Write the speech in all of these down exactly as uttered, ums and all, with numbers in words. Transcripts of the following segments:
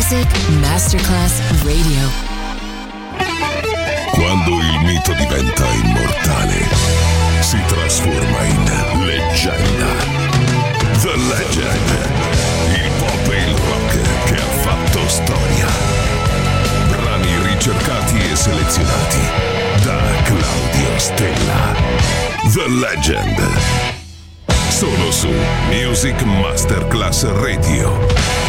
Music Masterclass Radio. Quando il mito diventa immortale, si trasforma in leggenda. The Legend, il pop e il rock che ha fatto storia. Brani ricercati e selezionati da Claudio Stella. The Legend, solo su Music Masterclass Radio.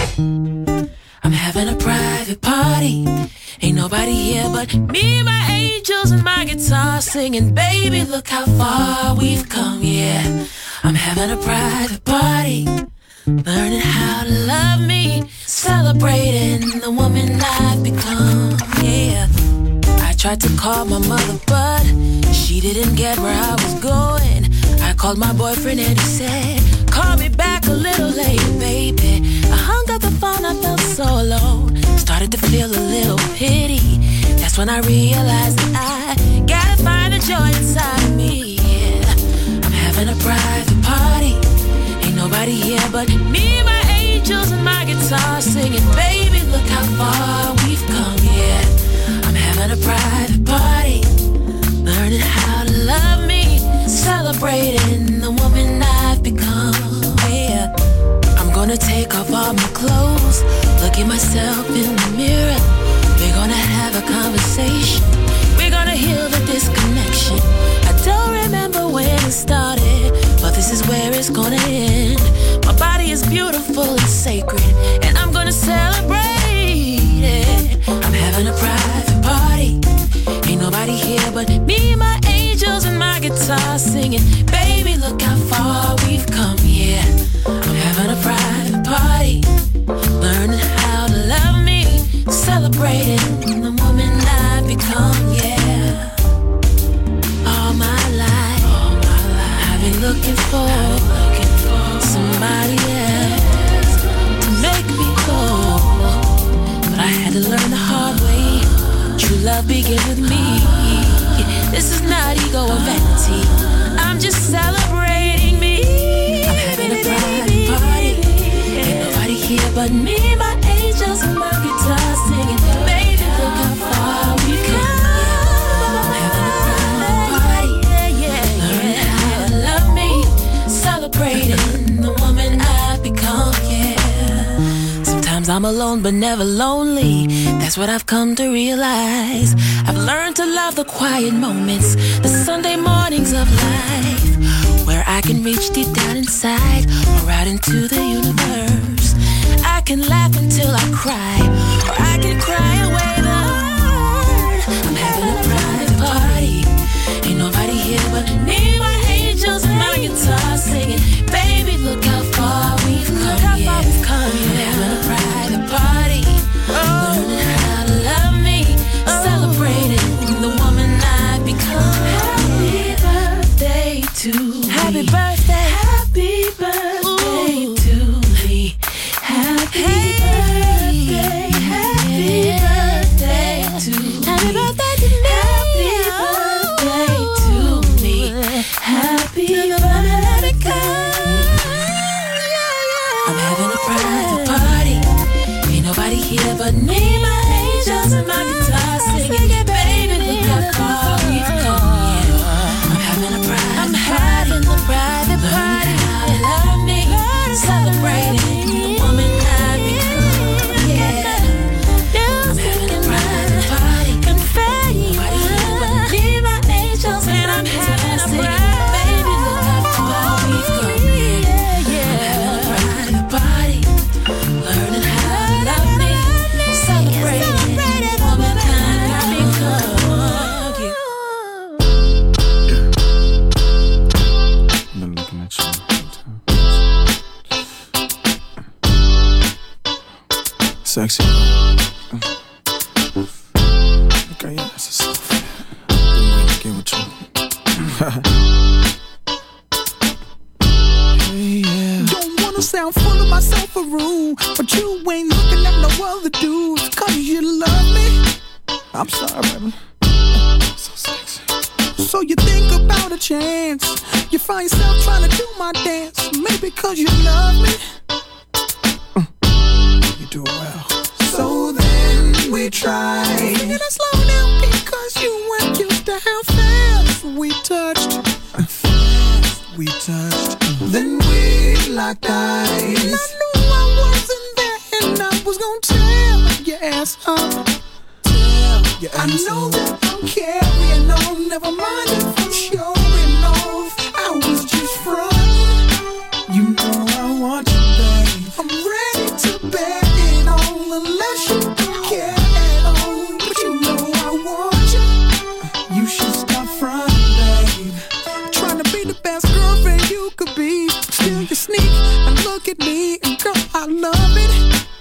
I'm having a private party. Ain't nobody here but me, my angels, and my guitar singing. Baby, look how far we've come, yeah. I'm having a private party, learning how to love me, celebrating the woman I've become, yeah. I tried to call my mother, but she didn't get where I was going. I called my boyfriend and he said, call me back a little later, baby. I hung up the phone, I felt so alone. Started to feel a little pity. That's when I realized that I gotta find the joy inside of me, yeah. I'm having a private party. Ain't nobody here but me, my angels, and my guitar singing. Baby, look how far we've come, yeah. I'm having a private party, learning how to love me, celebrating the woman I've become, yeah. I'm gonna take off all my clothes, look at myself in the mirror. We're gonna have a conversation, we're gonna heal the disconnection. I don't remember when it started, but this is where it's gonna end. My body is beautiful and sacred, and I'm gonna celebrate it. I'm having a private party, ain't nobody here but me, my angels, and my guitar singing. Baby, look how far we've come, yeah. I'm having a private party, learning how to love me, celebrating the woman I've become, yeah. All my life, all my life I've been looking for, looking for somebody else to make me whole, but I had to learn the hard way. True love begins with me. This is not ego or vanity, I'm just celebrating me. I'm having a private party, ain't nobody here but me, my angels, and my guitar singing. Baby, look how far we've come, yeah. I'm having a private party, learning how to love me, celebrating the woman I've become, yeah. Sometimes I'm alone but never lonely, that's what I've come to realize. I've learned to love the quiet moments, the Sunday mornings of life, where I can reach deep down inside or out into the universe. I can laugh until I cry, or I can cry away the hurt. I'm having a private party, ain't nobody here but me, my angels, and my guitar singing. Baby, look how far we've come, yeah. I'm having a private party, learning how to love me, celebrating the woman I've become. Happy birthday to me. Happy birthday. Happy birthday Ooh. To me. Happy birthday. Happy birthday to me. Happy birthday to me. Happy birthday to me. Happy birthday. I'm having a private party. Ain't nobody here but me, my angels, and my guitar singing. Baby, look how far we've come, yeah. I'm having a private I'm having a private party. How to love me, celebrating the woman I've become, yeah. I'm having a private party. Confetti, nobody here but me, my angels, and I'm having a private. Baby, look how far we've come, yeah. I'm having a private party, learning how to love me, celebrating the woman I've become, yeah. I've been looking at you. Sexy. Okay, yeah, that's a soft. Been waiting to get with you. Hey, yeah. Don't wanna sound full of myself or rude, but you ain't looking at no other dudes, cause you love me. I'm sorry, baby. So sexy. So you think about a chance, you find yourself trying to do my dance, maybe cause you love me. You do it well. So locked eyes. And I knew I wasn't there, and I was gonna tear your ass up. Tear your ass I know up. That I'm carrying on, never mind if I'm showing off. I was just frontin'. You know I want you, babe. I'm ready to bet it on, unless you don't care at all. But you know I want you. You should stop frontin', babe. Trying to be the best girlfriend you could be. Still you sneak and look at me, and girl, I love it.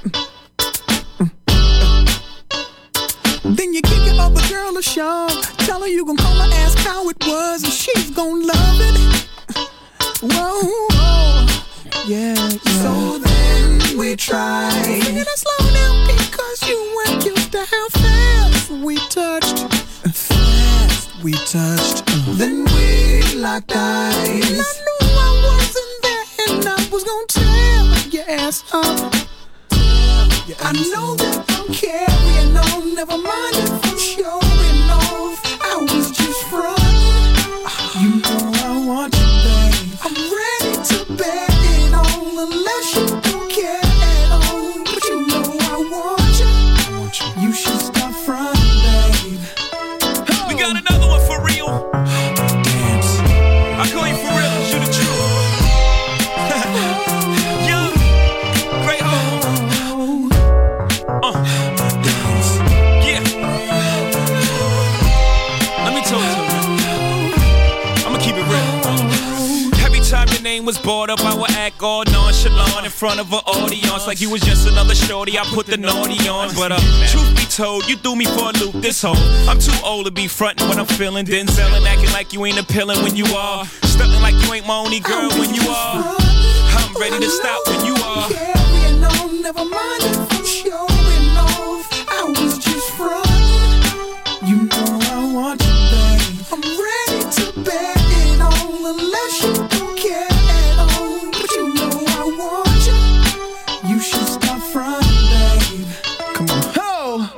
Then you give your other girl a shove. Tell her you gon' call her, ask how it was, and she's gon' love it. Whoa, yeah, yeah. So then we tried. Sing it slow down because you weren't used to how fast we touched. Fast we touched. Uh. Then we locked eyes. And I knew I wasn't there, and I was gon' tear your ass up. Your ass I know up. That I'm carrying on, never mind if I'm showing off. I was just frontin'. You know I want you, babe. I'm ready to bet it on, unless you don't care at all. But you know I want you. I want you. You should stop frontin', babe. Oh. We got another one for real. Dance. I call you for real, cause you the truth. Young, great home. Uh. Dance. Yeah. Let me talk to you. I'ma keep it real. Every time your name was brought up, I would act all nonchalant in front of an audience, like you was just another shorty. I put the naughty on, but uh, truth be told, you threw me for a loop this whole. I'm too old to be frontin' when I'm feeling Denzel and acting like you ain't appealing when you are. Stuntin' like you ain't my only girl when you are. I'm ready to stop when you are. Carrying on, never mind if I'm showing off. I was just frontin'. You know I want you, babe. I'm ready to bet it on, unless you don't care at all. But you know I want you. You should stop frontin', babe. Come on. Oh.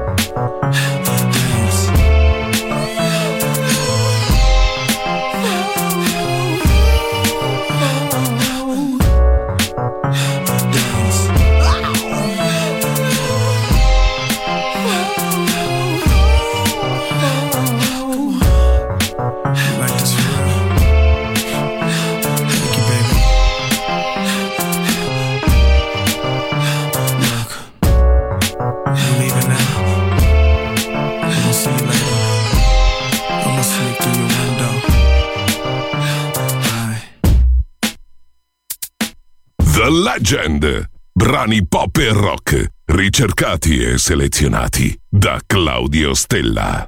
The Legend. Brani pop e rock, ricercati e selezionati da Claudio Stella.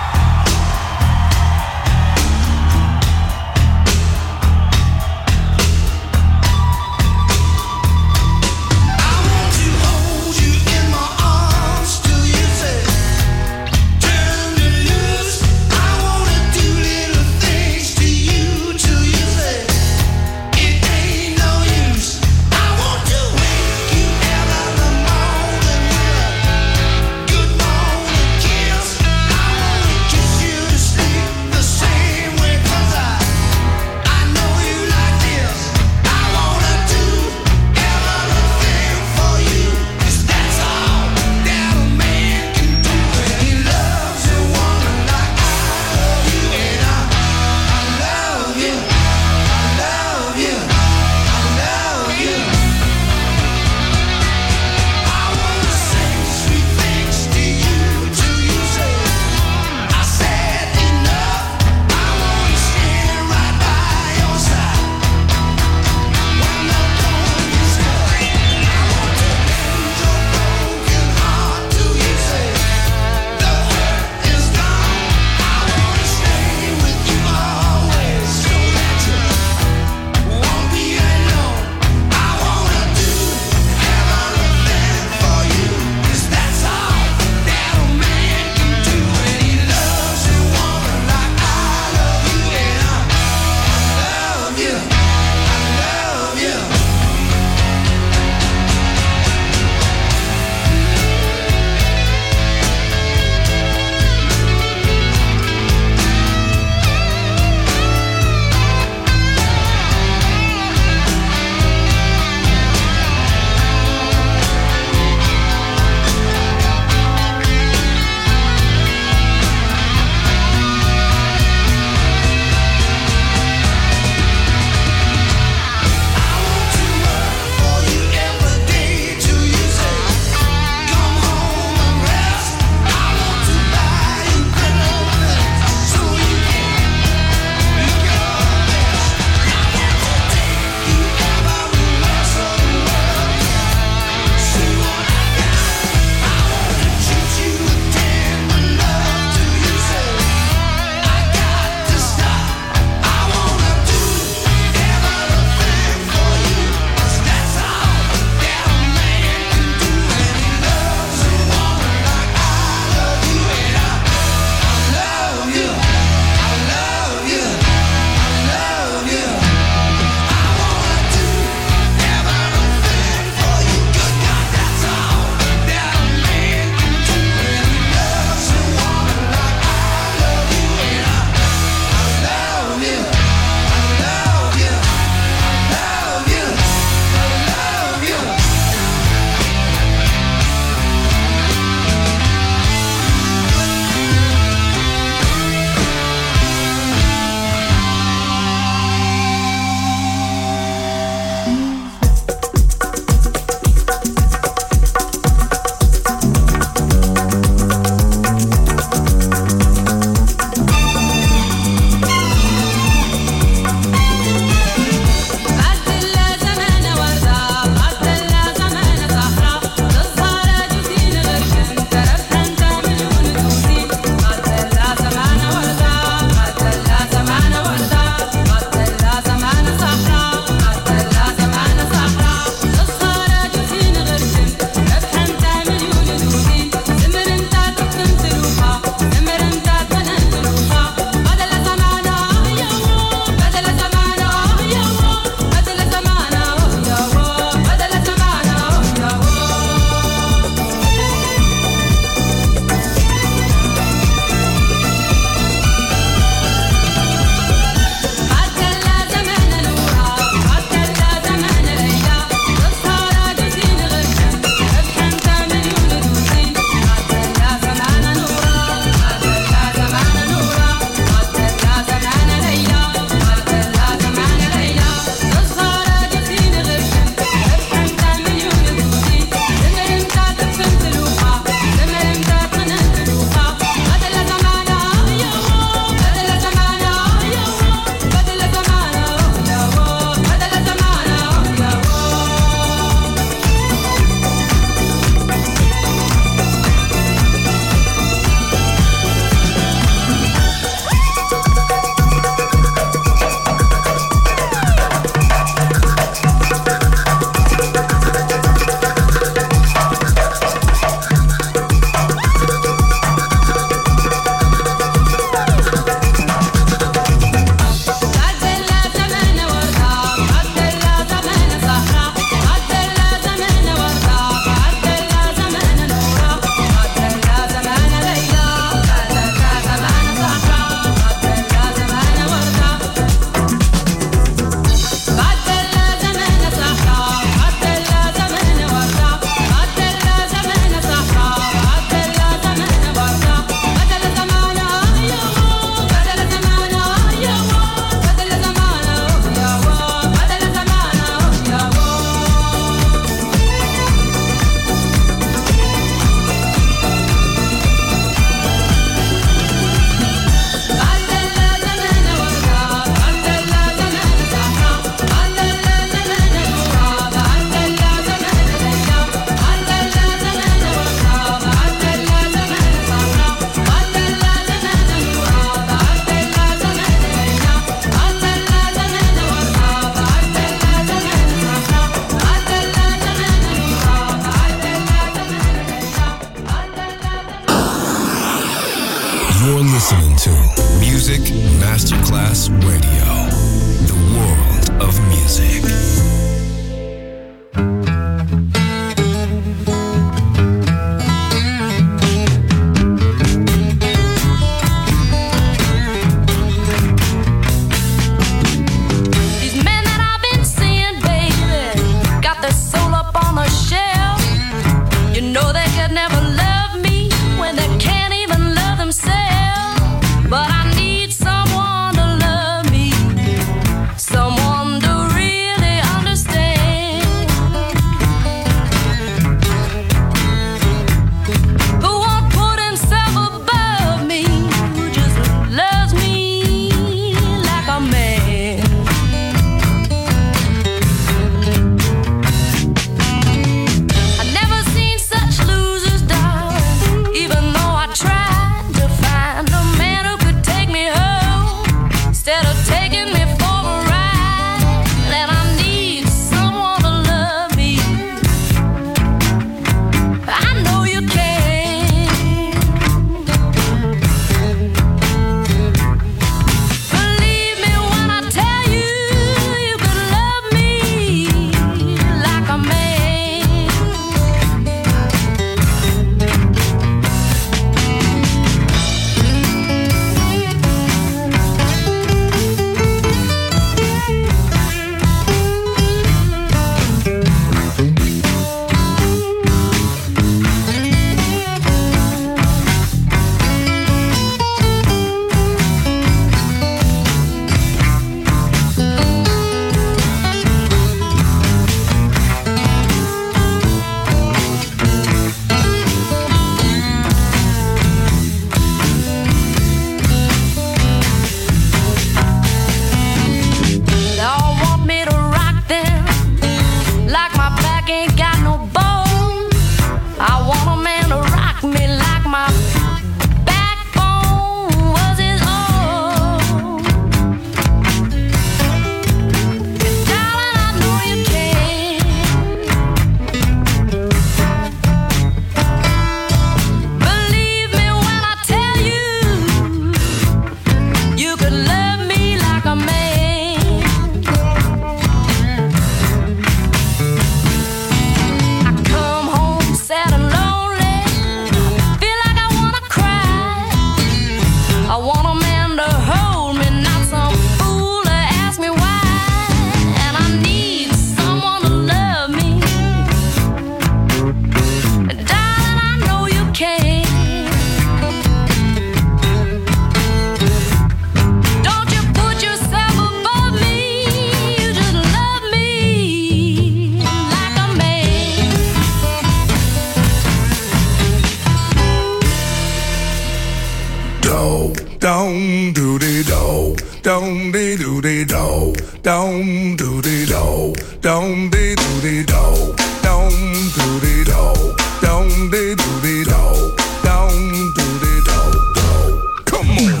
Don't de do de do, don't do de do, don't de do de do, don't do de do, don't de do de do, don't do de do do. Come on.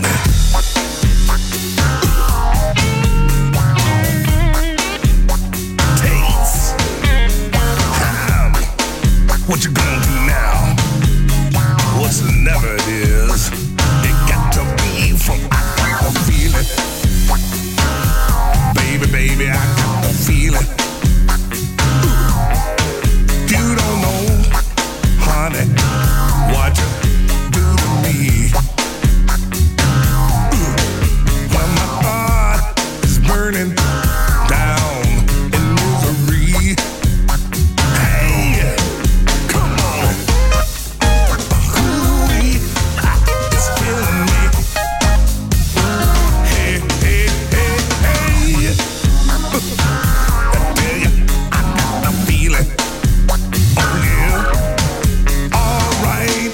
Taste. Um, what you gonna do now? What's the never it is? It got to be from I got to feel it. Baby, baby, I got the feeling. You don't know, honey, what you do to me. When my heart is burning down in misery. Hey, come on. Ooh-wee, it's killing me. Hey, hey, hey, hey. I tell you, I got the feeling. Oh yeah, all right.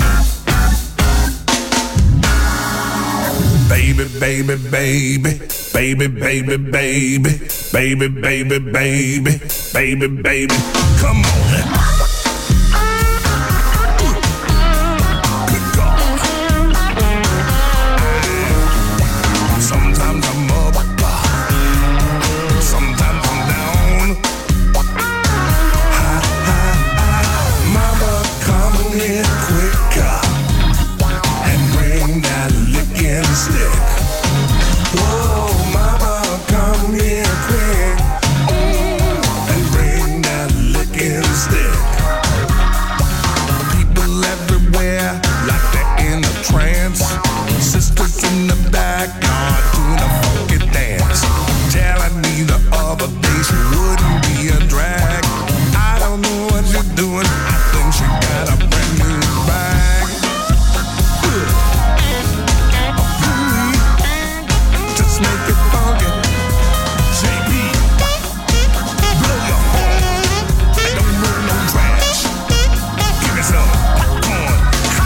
Baby, baby, baby, baby, baby, baby, baby, baby, baby, baby, baby, come on. Good God. Sometimes I'm up, sometimes I'm down. Mama, come here quicker and bring that licking stick. Whoa, mama, come here quick and bring that licking stick. People everywhere like they're in a trance. Sisters in the backyard doing a funky dance. Telling me the other day she wouldn't be a drag. I don't know what you're doing. I think she got a brand new bag. Ooh. Just make it funky. J P, blow your horn. And don't roll no trash. Give me some popcorn.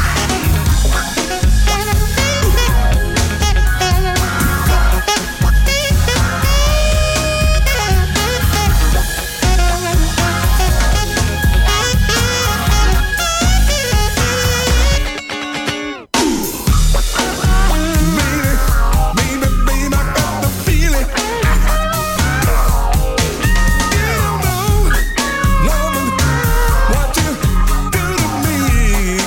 Baby, baby, baby, I got the feeling. You don't know, woman, what you do to me.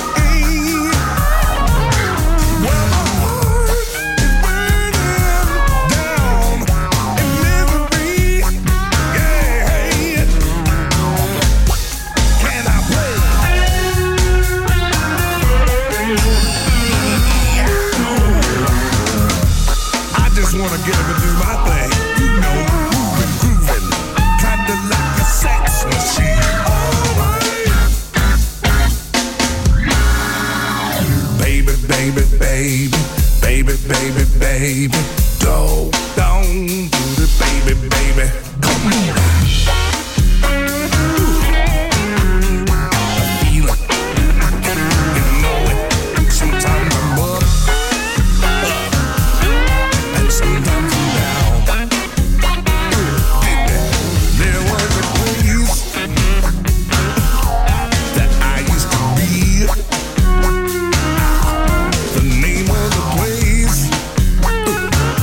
Well, my heart is burning down in misery. Yeah, can I play? I just wanna get up and do my thing, you know, moving, grooving, kinda like a sex machine. Alright. Baby, baby, baby, baby, baby, baby, go down to the baby, baby, come on. I feel it, you know it. Sometimes I'm up, and sometimes I'm down. There was a place that I used to be. The name of the place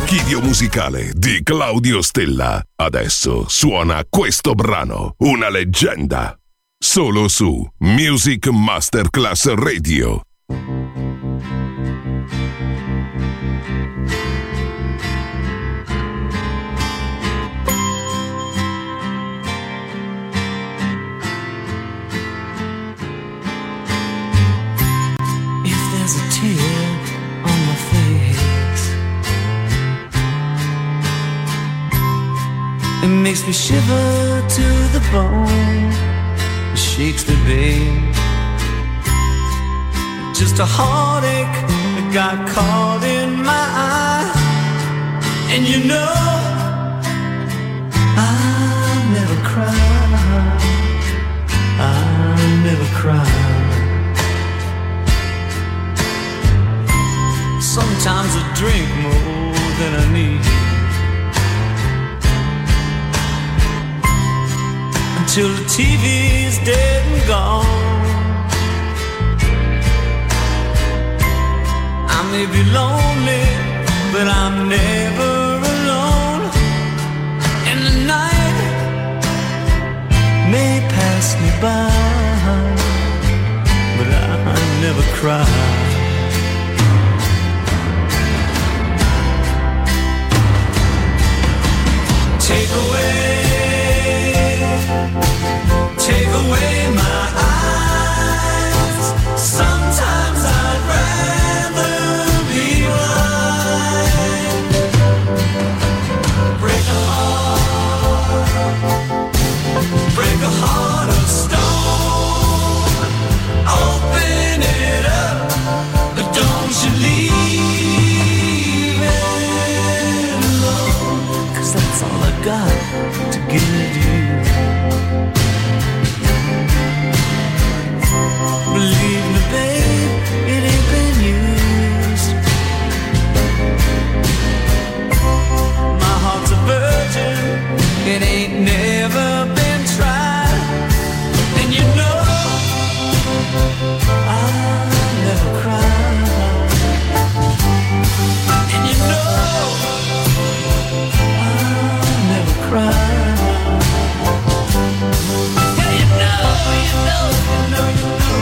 l'archivio musicale di Claudio Stella. Adesso suona questo brano, una leggenda. Solo su Music Masterclass Radio. It makes me shiver to the bone. It shakes me, babe. Just a heartache that got caught in my eye. And you know I never cry. I never cry. Sometimes I drink more than I need, till the T V's dead and gone. I may be lonely, but I'm never alone. And the night may pass me by, but I never cry. Take away, take away my eyes. Sometimes I'd rather be blind. Break a heart, break a heart of stone. Open it up, but don't you leave it alone. 'Cause that's all I got to give you. Believe me, babe, it ain't been used. My heart's a virgin, it ain't never been tried. And you know I never cry. And you know I never cry. Yeah, you know, you know, you know, you know.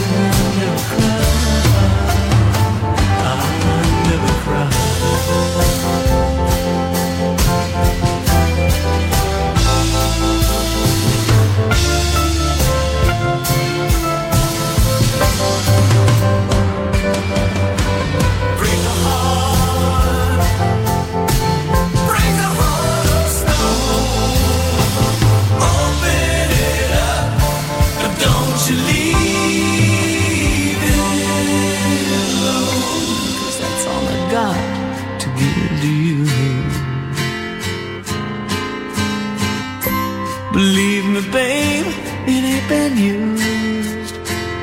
Believe me, babe, it ain't been used.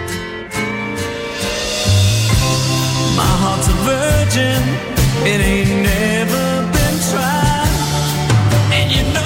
My heart's a virgin, it ain't never been tried. And you know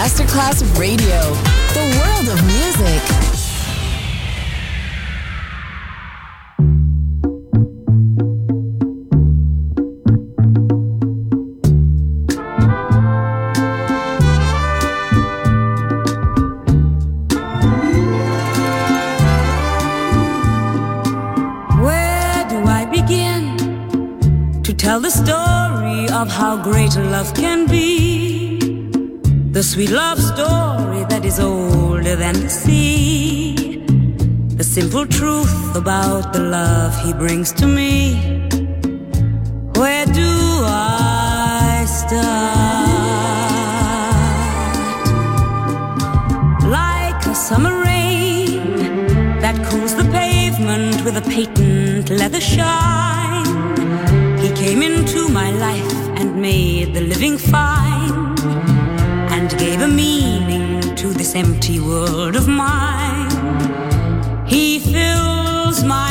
Masterclass Radio, the world of music. Tell the story of how great love can be, the sweet love story that is older than the sea, the simple truth about the love he brings to me. Where do I start? Like a summer rain that cools the pavement with a patent leather shine, he came into my life and made the living fine, and gave a meaning to this empty world of mine. He fills my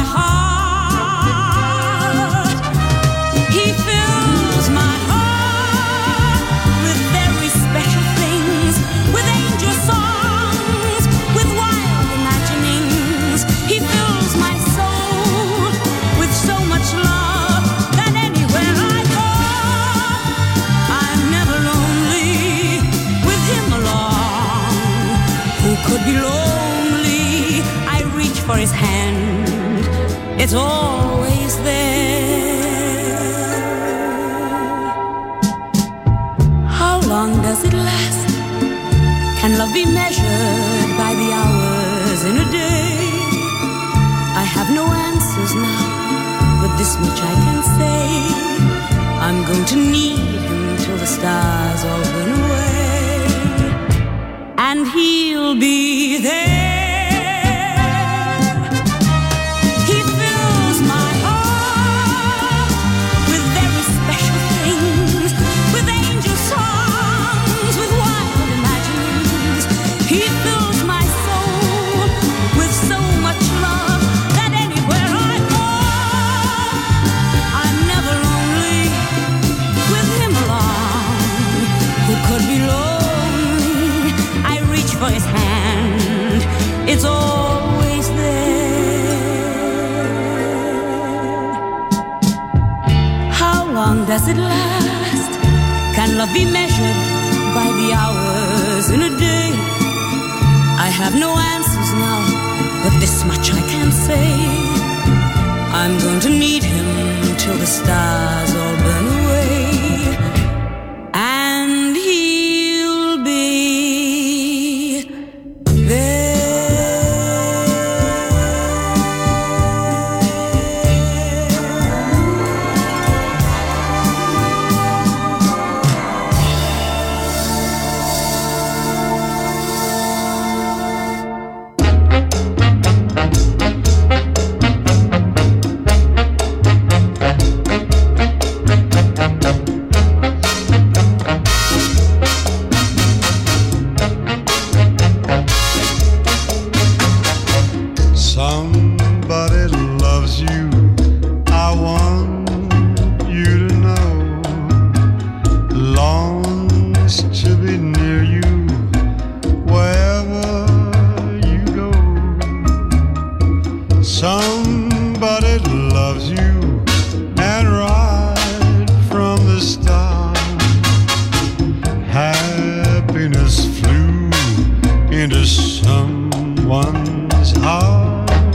heart, he fills my heart with very special things, with angel songs, with wild imaginings. He fills my soul with so much love. Could be lonely, I reach for his hand, it's always there. How long does it last? Can love be measured by the hours in a day? I have no answers now, but this much I can say: I'm going to need him till the stars all burn away, and he'll be there. He fills my heart with very special things, with angel songs, with wild imaginings. He fills my soul with so much love that anywhere I go, I'm never lonely with him along. Who could be lonely? I reach for his hand, it's always there. How long does it last? Can love be measured by the hours in a day? I have no answers now, but this much I can say: I'm going to need him till the stars all burn away, and he'll be there. Somebody loves you, I want you to know. Longs to be near you wherever you go. Somebody loves you, and right from the start, happiness flew into someone's heart.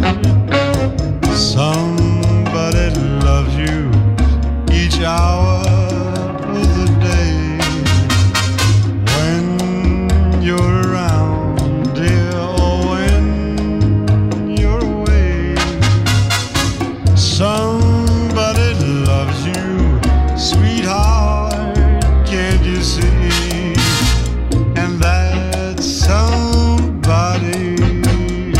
Somebody loves you each hour of the day. When you're around, dear, or when you're away. Somebody loves you, sweetheart, can't you see? And that somebody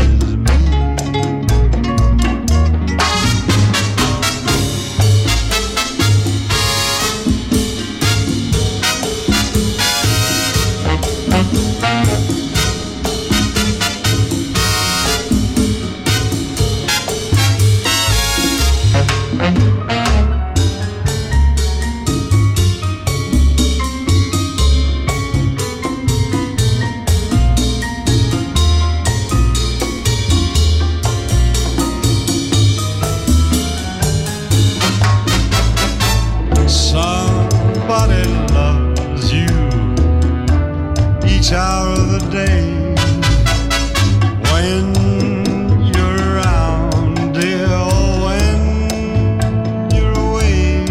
somebody loves you each hour of the day. When you're around, dear, or when you're away,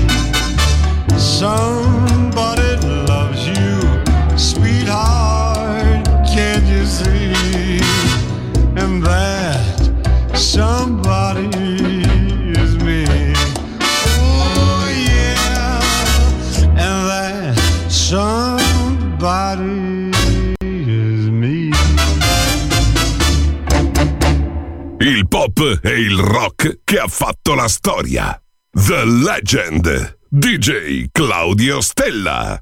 somebody loves you, sweetheart, can't you see? And that somebody is me. Oh yeah, and that somebody is me. Il pop e il rock che ha fatto la storia. The Legend, D J Claudio Stella.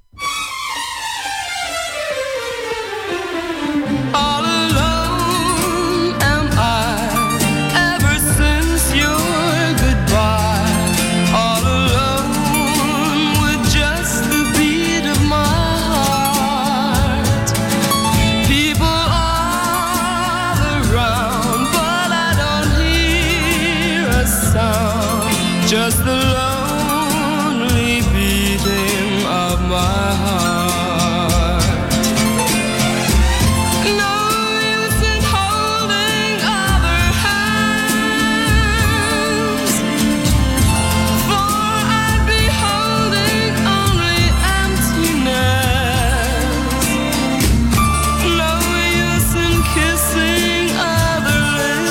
All alone am I, ever since your goodbye. All alone with just the beat of my heart. People all around, but I don't hear a sound. Just the lonely beating of my heart. No use in holding other hands, for I'd be holding only emptiness. No use in kissing other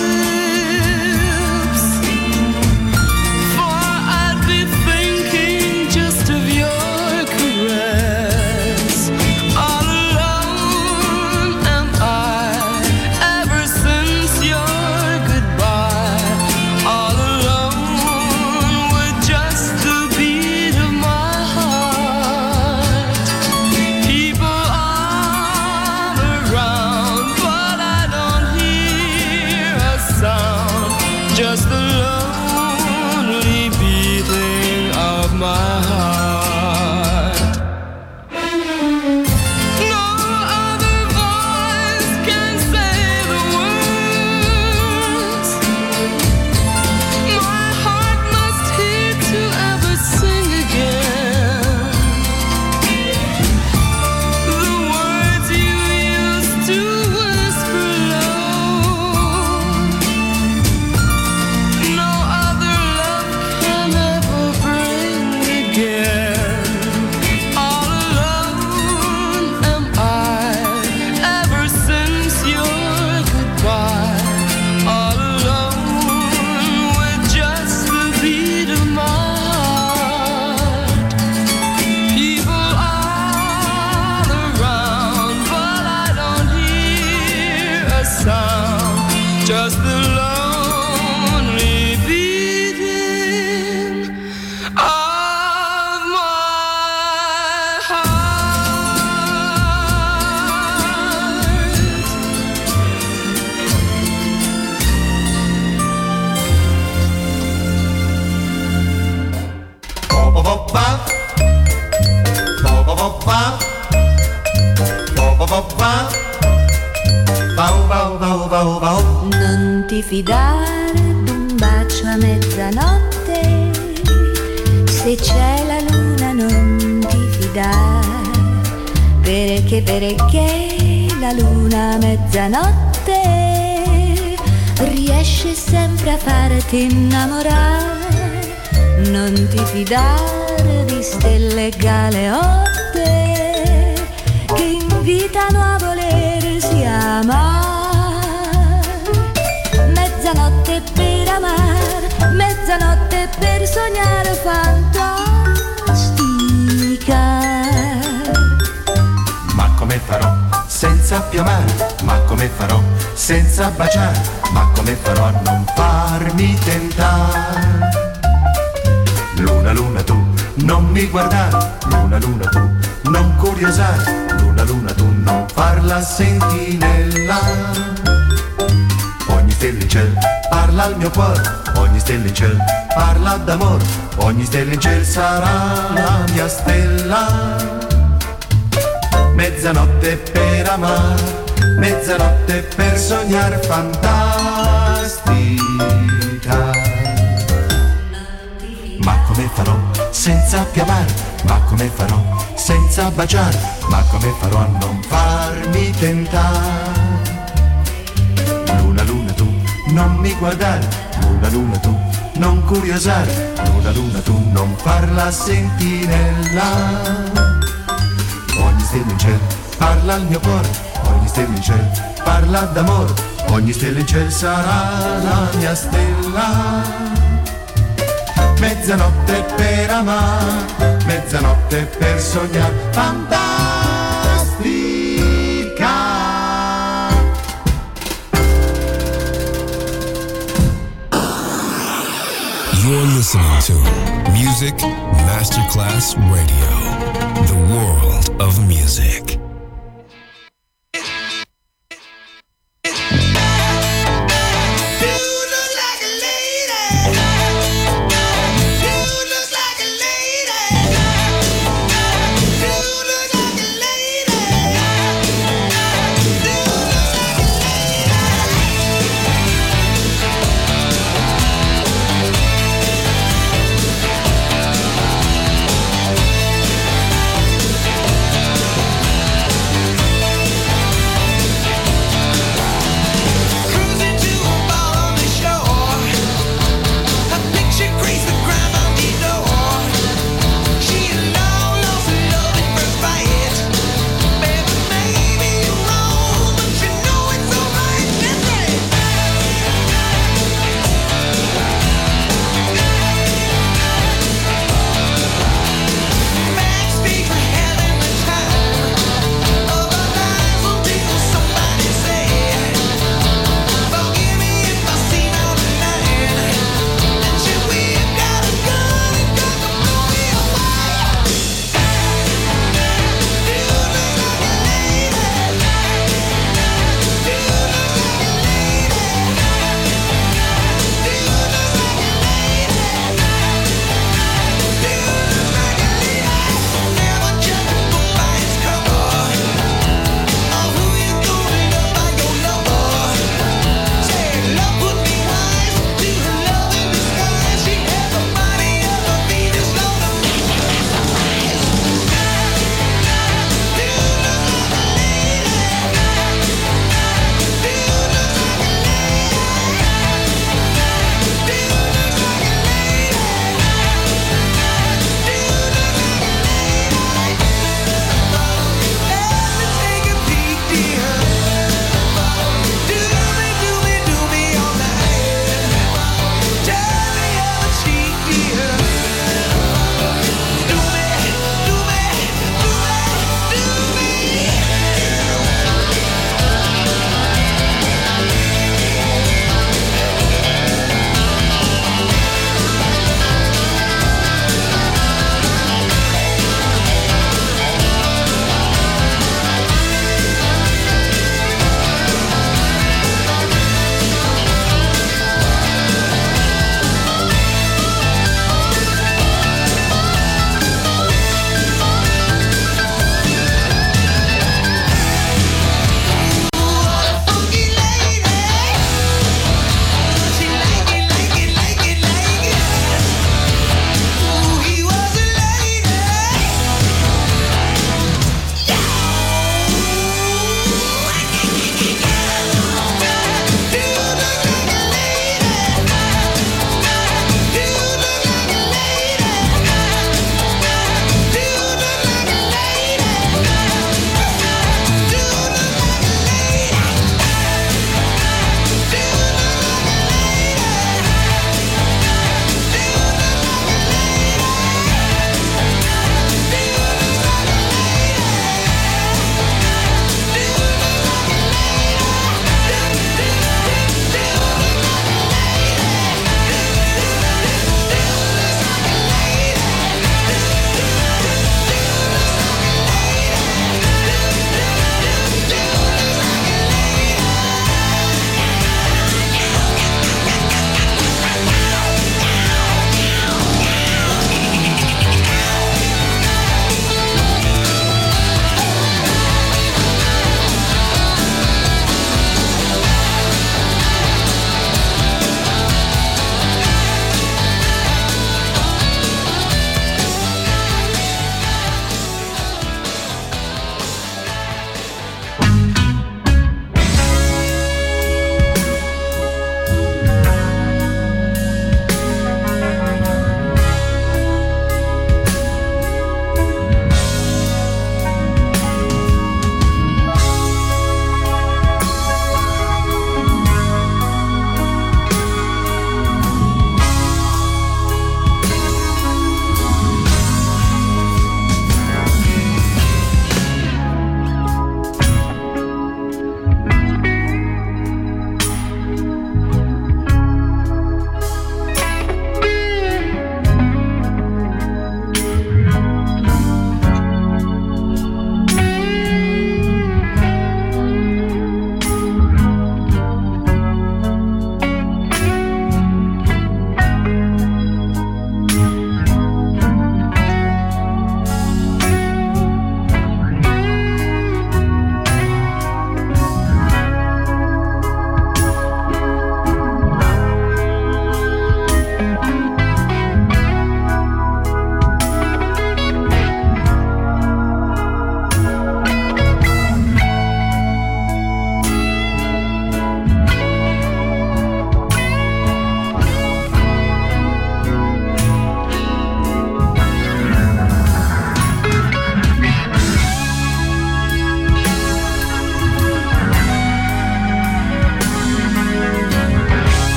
lips, for I'd be thinking just of your caress. All alone am I, ever since your goodbye. All alone with just the beat of my heart. People all around, but I don't hear a sound. Just the lonely beating of my heart. No other voice can say the words my heart must hear to ever sing again. The words you used to whisper low, no other love can ever bring again. All alone am I, ever since your goodbye. All alone with just the beat of my heart. People all around, but I don't hear a sound. Just the lonely beating of my Non ti fidare d'un bacio a mezzanotte, se c'è la luna non ti fidare, perché perché la luna a mezzanotte riesce sempre a farti innamorare. Non ti fidare di stelle galeotte che invitano a volersi amare. Mezzanotte per amare, mezzanotte per sognare fantastica. Ma come farò senza più amare? Ma come farò senza baciare? Ma come farò a non farmi tentare? Luna, luna tu, non mi guardare. Luna, luna tu, non curiosare. Luna, luna tu, non farla sentinella. Ogni stella in ciel parla al mio cuore, ogni stella in ciel parla d'amore, ogni stella in ciel sarà la mia stella. Mezzanotte per amare, mezzanotte per sognare fantastica. Ma come come farò senza piamare, ma come farò senza baciare, ma come farò a non farmi tentare. Luna, luna tu, non mi guardare, luna, luna tu, non curiosare, luna, luna tu, non far la sentinella. Ogni stella in cielo parla al mio cuore, ogni stella in cielo parla d'amore, ogni stella in cielo sarà la mia stella. Mezzanotte per amare, mezzanotte per sognare, fantastica. You're listening to Music Masterclass Radio, the world of music.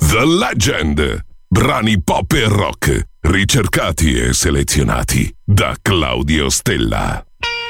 The Legend. Brani pop e rock, ricercati e selezionati da Claudio Stella.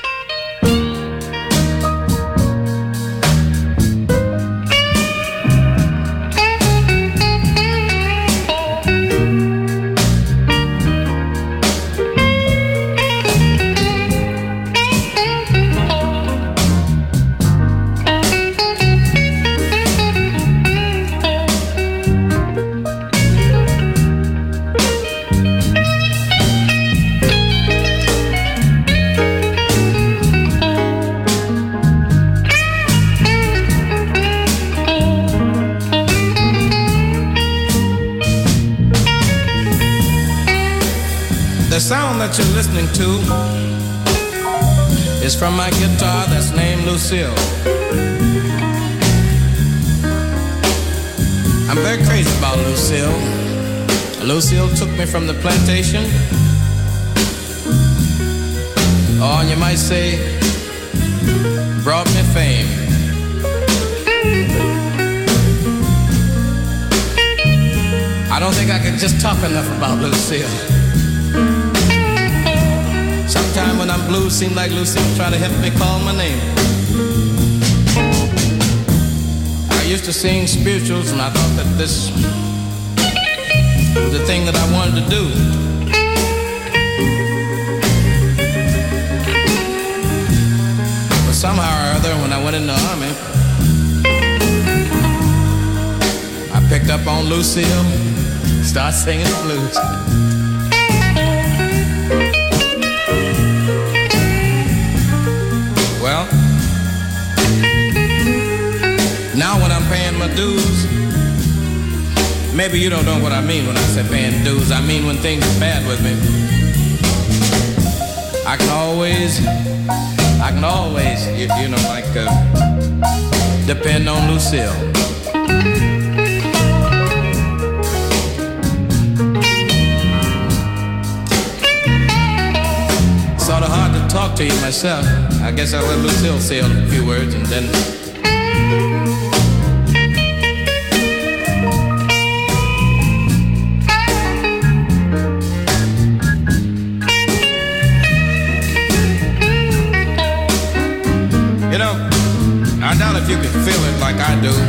The sound that you're listening to is from my guitar that's named Lucille. I'm very crazy about Lucille. Lucille took me from the plantation. Oh, and you might say, brought me fame. I don't think I can just talk enough about Lucille. Sometime when I'm blue, seem like Lucille try to help me call my name. I used to sing spirituals and I thought that this was the thing that I wanted to do. But somehow or other, when I went in the army, I picked up on Lucille, started singing the blues. Well, now when I'm paying my dues, maybe you don't know what I mean when I say paying dues. I mean when things are bad with me, I can always, I can always, you, you know, like uh, depend on Lucille. Sort of hard to talk to you myself. I guess I'll let Lucille say a few words and then. You know, I doubt if you can feel it like I do.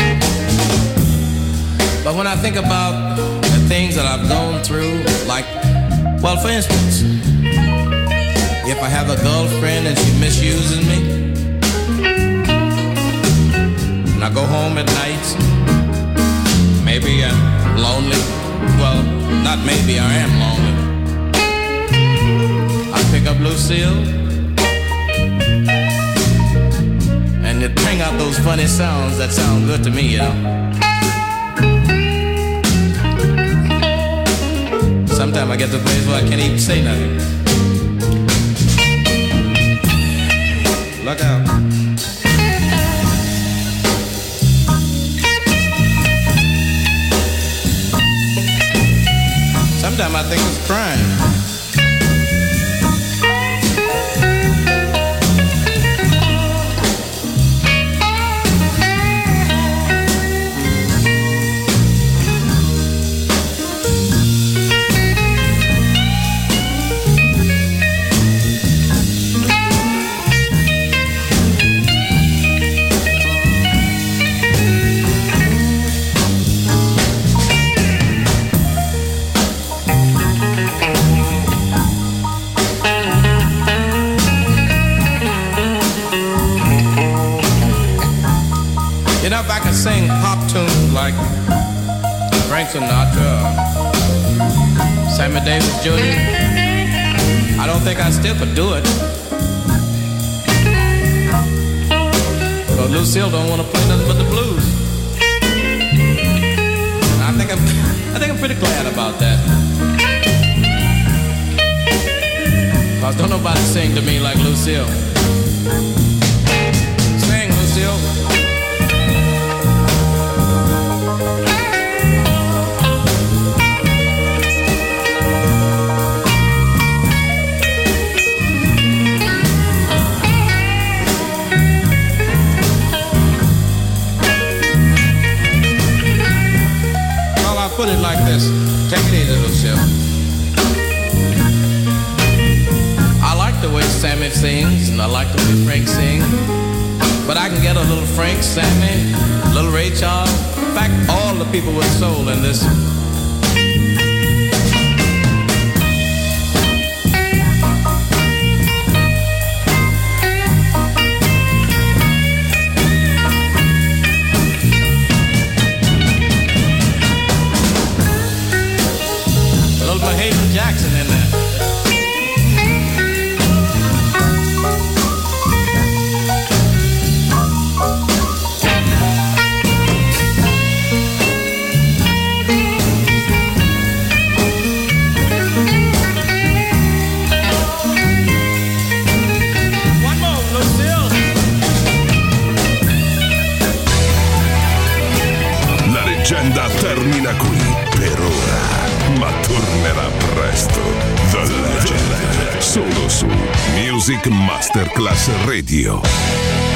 But when I think about the things that I've gone through, like, well, for instance, if I have a girlfriend and she misuses me, and I go home at night, maybe I'm lonely. Well, not maybe, I am lonely. I pick up Lucille, and it bring out those funny sounds that sound good to me, you know. Sometimes I get to a place where I can't even say nothing. Look out. Sometimes I think it's crime. You know, if I could sing pop tunes like Frank Sinatra or Sammy Davis Junior, I don't think I still could do it. But Lucille don't want to play nothing but the blues. And I think I'm, I think I'm pretty glad about that. Cause don't nobody sing to me like Lucille. Sing, Lucille. put it like this. Take it easy, Lucille. I like the way Sammy sings, and I like the way Frank sings. But I can get a little Frank, Sammy, a little Ray Charles. In fact, all the people with soul in this. Mahalia Jackson in there. One more, Lucille. La leggenda termina qui per ora, ma tornerà presto. The Legend, solo su Music Masterclass Radio.